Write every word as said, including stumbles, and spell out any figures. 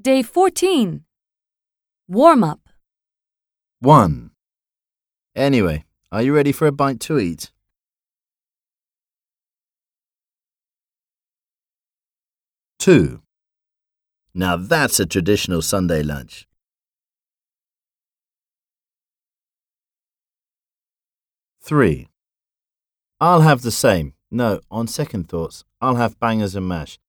Day fourteen. Warm-up. one. Anyway, are you ready for a bite to eat? two. Now that's a traditional Sunday lunch. three. I'll have the same. No, on second thoughts, I'll have bangers and mash.